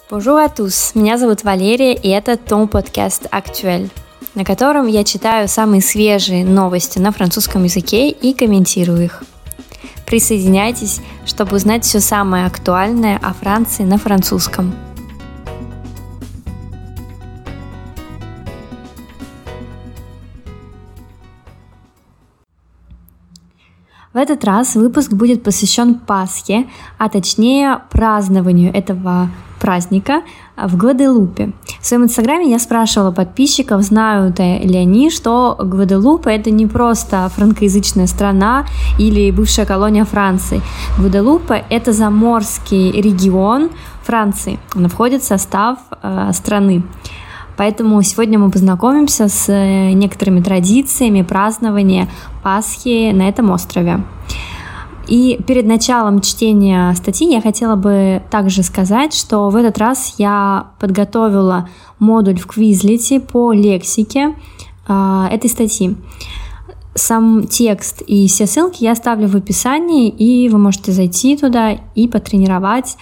Bonjour à tous, меня зовут Валерия, и это Ton Podcast Actuel, на котором я читаю самые свежие новости на французском языке и комментирую их. Присоединяйтесь, чтобы узнать все самое актуальное о Франции на французском. В этот раз выпуск будет посвящен Пасхе, а точнее празднованию этого праздника в Гваделупе. В своем инстаграме я спрашивала подписчиков, знают ли они, что Гваделупа — это не просто франкоязычная страна или бывшая колония Франции. Гваделупа — это заморский регион Франции, он входит в состав страны. Поэтому сегодня мы познакомимся с некоторыми традициями празднования Пасхи на этом острове. И перед началом чтения статьи я хотела бы также сказать, что в этот раз я подготовила модуль в Quizlet по лексике этой статьи. Сам текст и все ссылки я оставлю в описании, и вы можете зайти туда и потренировать,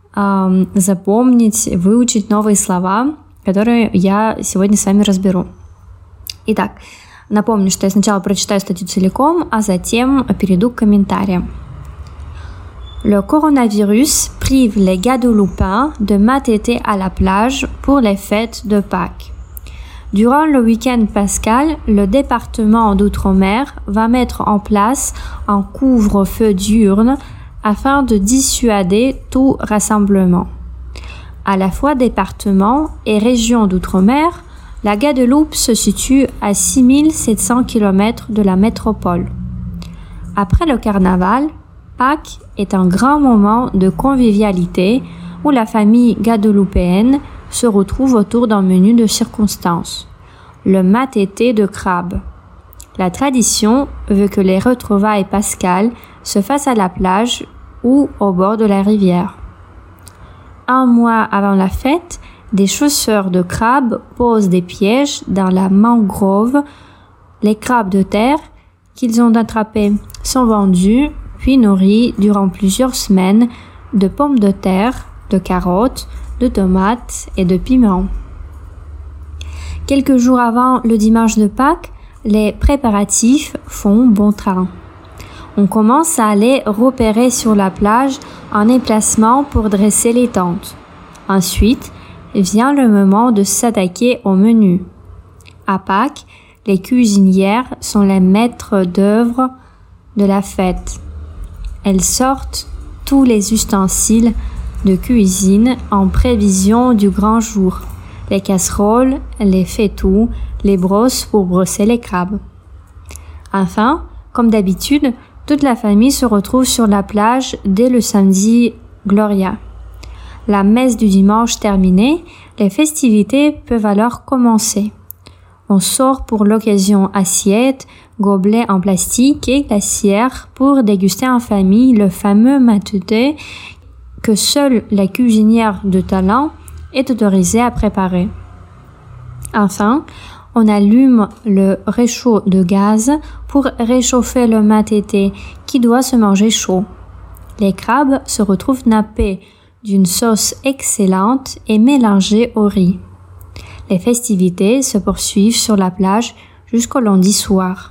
запомнить, выучить новые слова, которые я сегодня с вами разберу. Итак, напомню, что я сначала прочитаю статью целиком, а затем перейду к комментариям. Le coronavirus prive les Guadeloupéens de m'attêter à la plage pour les fêtes de Pâques. Durant le week-end pascal, le département d'Outre-mer va mettre en place un couvre-feu diurne afin de dissuader tout rassemblement. À la fois département et région d'outre-mer, la Guadeloupe se situe à 6700 km de la métropole. Après le carnaval, Pâques est un grand moment de convivialité où la famille guadeloupéenne se retrouve autour d'un menu de circonstance, le matété de crabe. La tradition veut que les retrouvailles pascales se fassent à la plage ou au bord de la rivière. Un mois avant la fête, des chasseurs de crabes posent des pièges dans la mangrove. Les crabes de terre qu'ils ont attrapés sont vendus puis nourris durant plusieurs semaines de pommes de terre, de carottes, de tomates et de piments. Quelques jours avant le dimanche de Pâques, les préparatifs font bon train. On commence à aller repérer sur la plage un emplacement pour dresser les tentes. Ensuite, vient le moment de s'attaquer au menu. À Pâques, les cuisinières sont les maîtres d'œuvre de la fête. Elles sortent tous les ustensiles de cuisine en prévision du grand jour. Les casseroles, les fétous, les brosses pour brosser les crabes. Enfin, comme d'habitude, toute la famille se retrouve sur la plage dès le samedi Gloria. La messe du dimanche terminée, les festivités peuvent alors commencer. On sort pour l'occasion assiettes, gobelets en plastique et glacières pour déguster en famille le fameux matété que seule la cuisinière de talent est autorisée à préparer. Enfin, on allume le réchaud de gaz pour réchauffer le matété qui doit se manger chaud. Les crabes se retrouvent nappés d'une sauce excellente et mélangés au riz. Les festivités se poursuivent sur la plage jusqu'au lundi soir.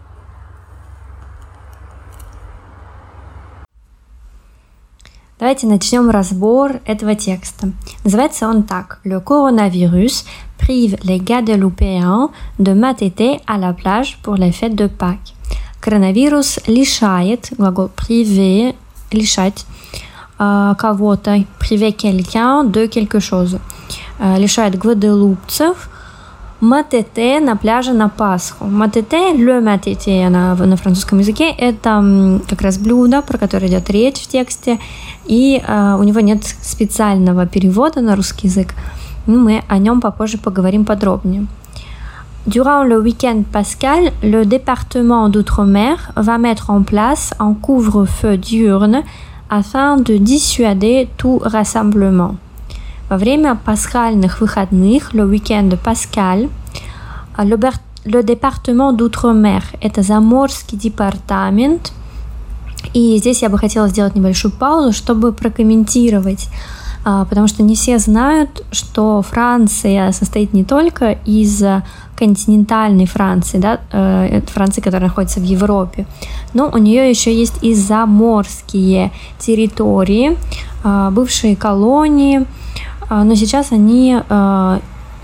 Давайте начнем разбор этого текста. Называется он так. Le coronavirus prive les Guadeloupéens de m'attêter à la plage pour les fêtes de Pâques. Коронавирус лишает, глагол priver, лишать кого-то, priver quelqu'un de quelque chose. Лишает гваделупцев матете на пляже на Пасху. Матете, le матете на французском языке, это как раз блюдо, про которое идет речь в тексте, и у него нет специального перевода на русский язык. Мы о нем попозже поговорим подробнее. Durant le week-end pascal, le département d'Outre-mer va mettre en place un couvre-feu diurne afin de dissuader tout rassemblement. Во время пасхальных выходных, le week-end pascal, le département d'Outre-mer – это заморский департамент. И здесь я бы хотела сделать небольшую паузу, чтобы прокомментировать потому что не все знают, что Франция состоит не только из континентальной Франции, да, Франции, которая находится в Европе, но у нее еще есть и заморские территории, бывшие колонии, но сейчас они, да,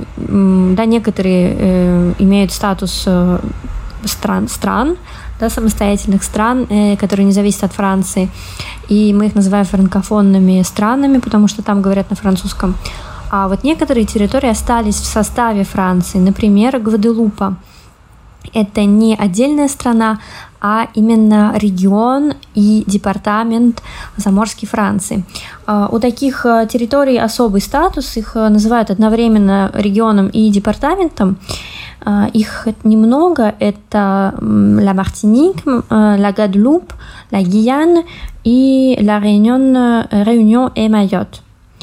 некоторые имеют статус стран, да, самостоятельных стран, которые не зависят от Франции, и мы их называем франкофонными странами, потому что там говорят на французском. А вот некоторые территории остались в составе Франции, например, Гваделупа. Это не отдельная страна, а именно регион и департамент заморской Франции. У таких территорий особый статус, их называют одновременно регионом и департаментом. Их немного, это la Martinique, la Guadeloupe, la Guyane и la Réunion et Mayotte.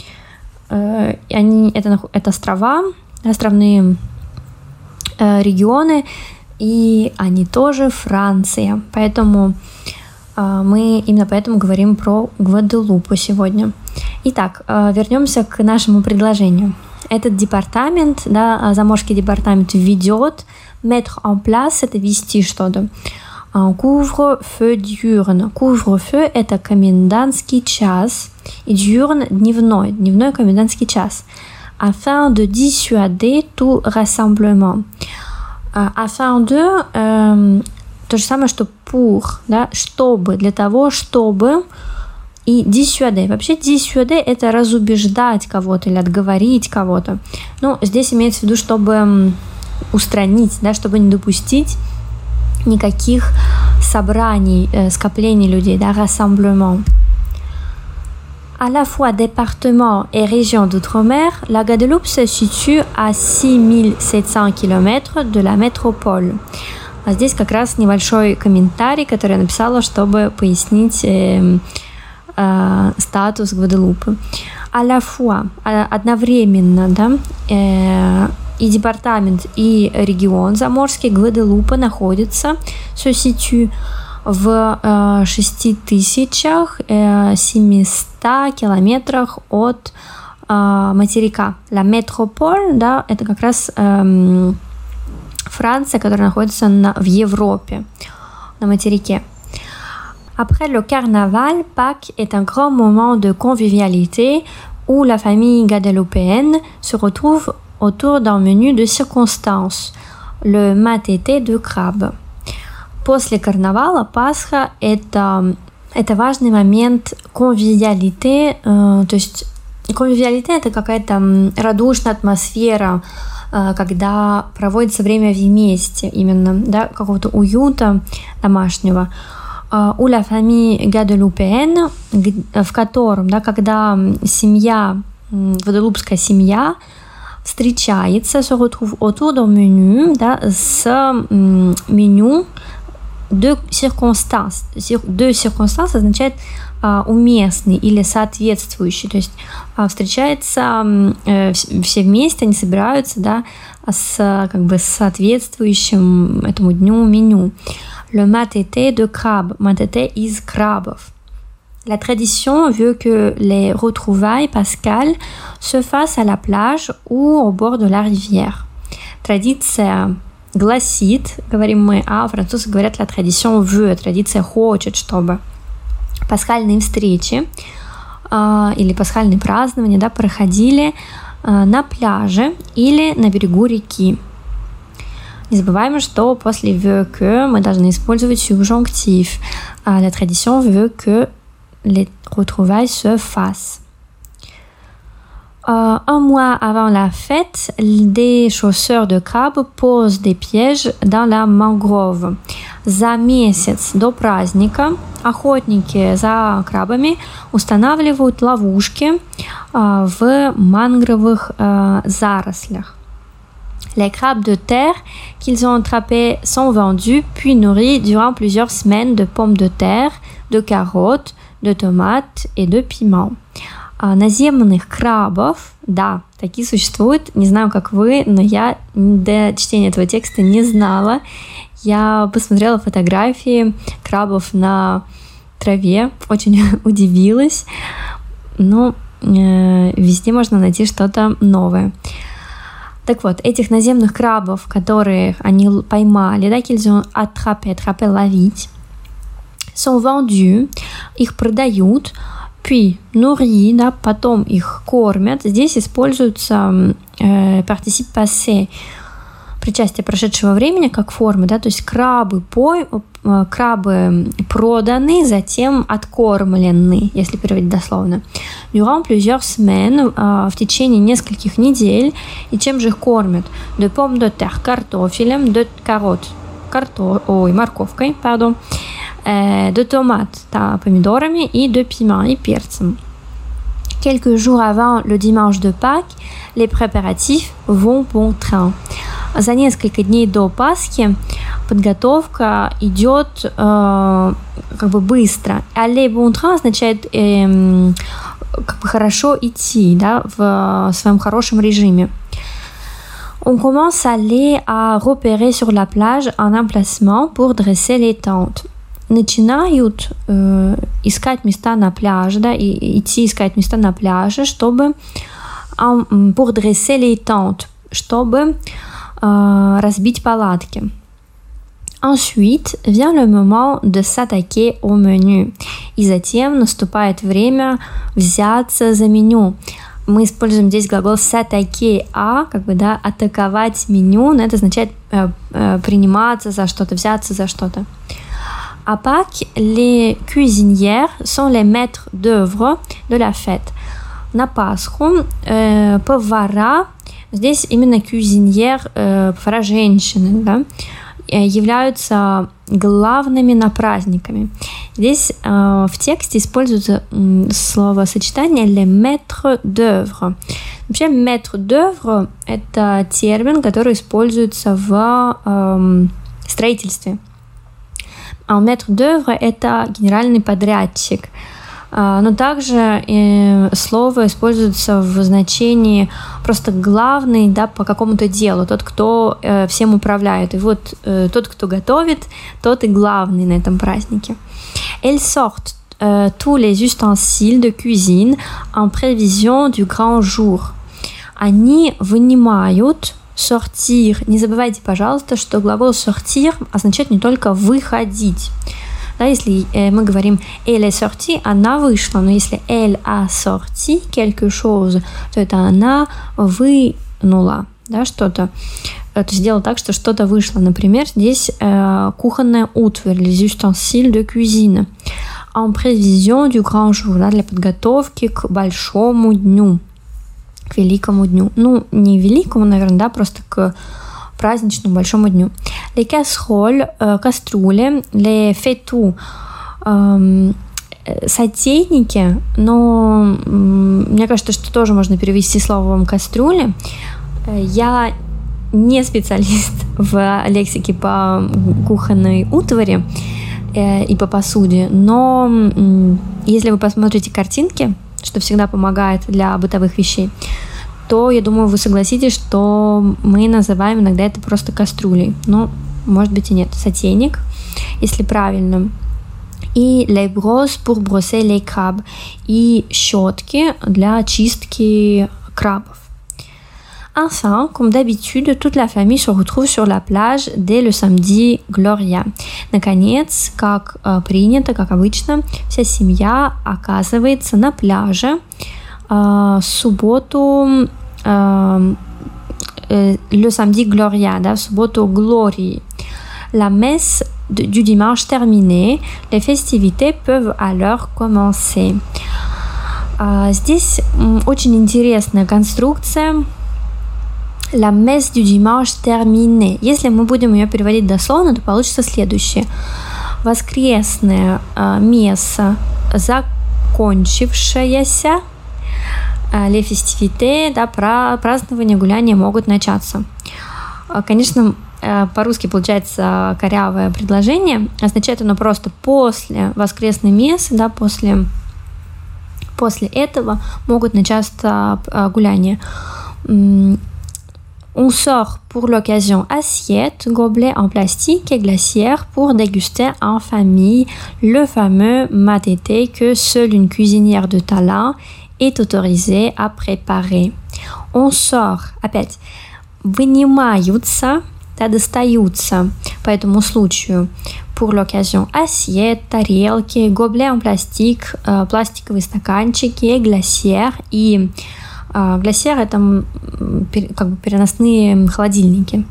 Это острова, островные регионы, и они тоже Франция. Поэтому мы именно поэтому говорим про Гваделупу сегодня. Итак, вернемся к нашему предложению. Этот департамент, да, заморский департамент ведет, mettre en place, это вести что-то. Couvre-feu diurne. Couvre-feu – это комендантский час, и diurne – дневной комендантский час. Afin de dissuader tout rassemblement. Afin de, то же самое, что pour, да, чтобы, для того, чтобы, и dissuader. Вообще dissuader – это разубеждать кого-то или отговорить кого-то. Но здесь имеется в виду, чтобы устранить, да, чтобы не допустить никаких собраний, скоплений людей, да, rassemblement. À la fois département et région d'outre-mer, la Guadeloupe se situe à 6700 km de la métropole. А здесь как раз небольшой комментарий, который я написала, чтобы пояснить статус Гваделупы. À la fois, одновременно, да, и департамент, и регион заморский Гваделупа находится, se situe, в 6700 километрах от материка. La métropole, да, это как раз Франция, которая находится в Европе, на материке. Après le carnaval, Pâques est un grand moment de convivialité où la famille guadeloupéenne se retrouve autour d'un menu de circonstances, le matété de crabe. После карнавала Пасха – это важный момент конвивиалите, то есть конвивиалите – это какая-то радушная атмосфера, когда проводится время вместе, именно, да, какого-то уюта домашнего. У la famille guadeloupéenne, в котором, да, когда семья, гваделупская семья встречается, se retrouve autour d'un menu, да, с меню de circonstances. De circonstances означает уместный или соответствующий, то есть встречаются все вместе, они собираются, да, с как бы соответствующим этому дню меню. Le matété de crabe, matété из крабов. La tradition veut que les retrouvailles pascales se fassent à la plage ou au bord de la rivière. Традиция гласит, говорим мы, а французы говорят la tradition veut, традиция хочет, чтобы пасхальные встречи или пасхальные празднования, да, проходили на пляже или на берегу реки. Не забываем, что после veut que мы должны использовать subjonctif. La tradition veut que les retrouvailles se fassent. Un mois avant la fête, des chasseurs de crabes posent des pièges dans la mangrove. За месяц до праздника охотники за крабами устанавливают ловушки в мангровых зарослях. Les crabes de terre qu'ils ont attrapés sont vendus puis nourris durant plusieurs semaines de pommes de terre, de carottes, de tomates et de piments. Наземных крабов, да, такие существуют. Не знаю, как вы, но я до чтения этого текста не знала. Я посмотрела фотографии крабов на траве, очень удивилась. Но везде можно найти что-то новое. Так вот, этих наземных крабов, которые они поймали, да, qu'ils ont attrapé, ловить, sont vendus, их продают, puis nourris, да, потом их кормят. Здесь используется participe passé, причастие прошедшего времени как формы, да, то есть крабы проданы, затем откормлены, если переводить дословно. Durant plusieurs semaines, в течение нескольких недель. И чем же их кормят? De pommes de terre, картофелем, de carottes, морковкой, de tomates, да, помидорами, и de piment, и перцем. Quelques jours avant le dimanche de Pâques, les préparatifs vont bon train. За несколько дней до Пасхи подготовка идет как бы быстро. Aller bon train означает как бы хорошо идти, да, в своем хорошем режиме. On commence à aller à repérer sur la plage un emplacement pour dresser les tentes. Начинают искать места на пляже, да, и идти искать места на пляже, чтобы pour dresser les tentes, чтобы разбить палатки. Ensuite vient le moment de s'attaquer au menu. И затем наступает время взяться за меню. Мы используем здесь глагол s'attaquer как бы, да, атаковать меню, но это означает приниматься за что-то, взяться за что-то. À Pâques, les cuisinières sont les maîtres d'œuvre de la fête. На Пасху повара, здесь именно кюзиньер, повара женщины, да, являются главными на праздниками. Здесь в тексте используется словосочетание les maîtres d'œuvre. Вообще, maître d'œuvre – это термин, который используется в строительстве. А maître d'œuvre – это генеральный подрядчик. Но также слово используется в значении просто главный, да, по какому-то делу, тот, кто всем управляет. И вот тот, кто готовит, тот и главный на этом празднике. Elles sortent tous les ustensiles de cuisine en prévision du grand jour. Они вынимают sortir. Не забывайте, пожалуйста, что глагол sortir означает не только выходить. Да, если мы говорим elle est sortie, она вышла, но если elle a sorti quelque chose, то это она вынула, да, что-то, то есть сделала так, что что-то вышло. Например, здесь кухонная утварь, les ustensiles de cuisine, en prévision du grand jour, да, для подготовки к большому дню, к великому дню. Ну, не великому, наверное, да, просто к праздничному большому дню. Les casseroles, кастрюли, les faitout, сотейники, но мне кажется, что тоже можно перевести словом кастрюли. Я не специалист в лексике по кухонной утвари и по посуде, но если вы посмотрите картинки, что всегда помогает для бытовых вещей, то, я думаю, вы согласитесь, что мы называем иногда это просто кастрюлей. Но, может быть, и нет. Сотейник, если правильно. И les brosses pour brosser les crabes. И щетки для чистки крабов. Enfin, comme d'habitude, toute la famille se retrouve sur la plage dès le samedi Gloria. Наконец, как принято, как обычно, вся семья оказывается на пляже в субботу, le samedi Gloria, да, в субботу Глории. La messe du dimanche terminée, les festivités peuvent alors commencer. Здесь очень интересная конструкция. La messe du dimanche terminée. Если мы будем ее переводить дословно, то получится следующее. Воскресная месса, закончившаяся, les festivités, да, празднования, гуляния могут начаться. Конечно, по-русски получается корявое предложение. Означает оно просто после воскресной мессы, да, после этого могут начаться гуляния. On sort pour l'occasion assiettes, gobelets en plastique et glacières pour déguster en famille le fameux matété que seule une cuisinière de talent est autorisé à préparer. On sort, опять, вынимаются, да, достаются по этому случаю. Pour l'occasion, assiette, тарелки, gobelets en plastique, пластиковые стаканчики, glacières. И glacières — это как бы переносные холодильники.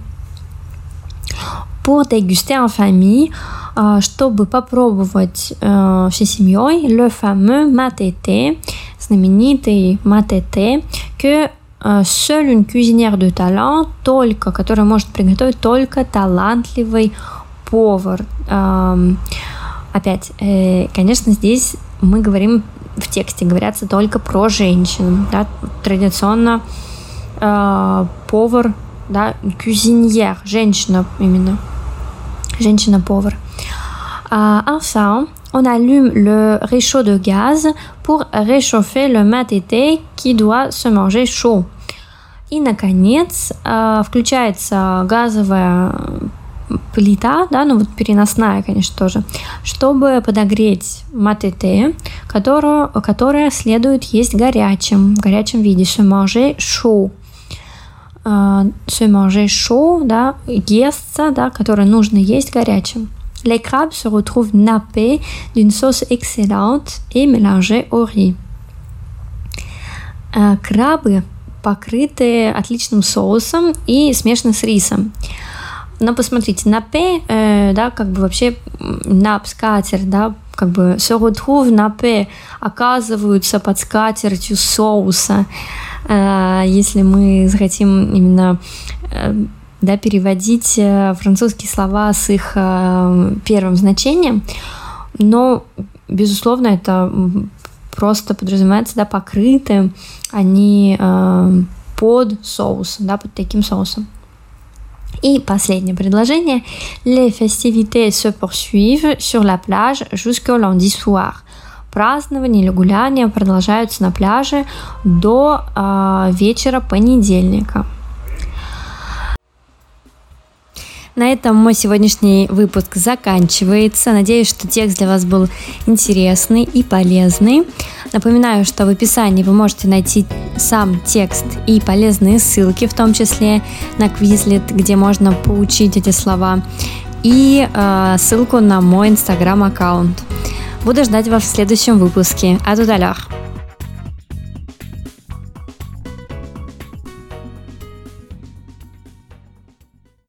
Pour déguster en famille, чтобы попробовать всей семьей, le fameux matete, знаменитый matete, que seule une cuisinière de talent, которая может приготовить только талантливый повар. Опять, конечно, здесь мы говорим, в тексте говорятся только про женщин. Да? Традиционно повар, да, cuisinière, женщина именно. Женщина-повар. Enfin, on allume le réchaud de gaz pour réchauffer le matete qui doit se manger chaud. И, наконец, включается газовая плита, да, ну вот переносная, конечно, тоже, чтобы подогреть матете, которое следует есть в горячем виде. Se manger chaud. Se manger chaud, да, естся, да, которое нужно есть горячим. Les crabes se retrouvent nappés d'une sauce excellente et mélangés au riz. Крабы покрыты отличным соусом и смешаны с рисом. Но посмотрите, nappé, да, как бы вообще нап, скатерть, да, как бы se retrouve nappé, оказываются под скатертью соуса. Если мы захотим именно, да, переводить французские слова с их первым значением, но, безусловно, это просто подразумевается, да, покрыты они под соусом, да, под таким соусом. И последнее предложение. Les festivités se poursuivent sur la plage jusqu'au lundi soir. Празднования или гуляния продолжаются на пляже до вечера понедельника. На этом мой сегодняшний выпуск заканчивается. Надеюсь, что текст для вас был интересный и полезный. Напоминаю, что в описании вы можете найти сам текст и полезные ссылки, в том числе на Quizlet, где можно поучить эти слова, и ссылку на мой Instagram-аккаунт. Буду ждать вас в следующем выпуске. À tout à l'heure.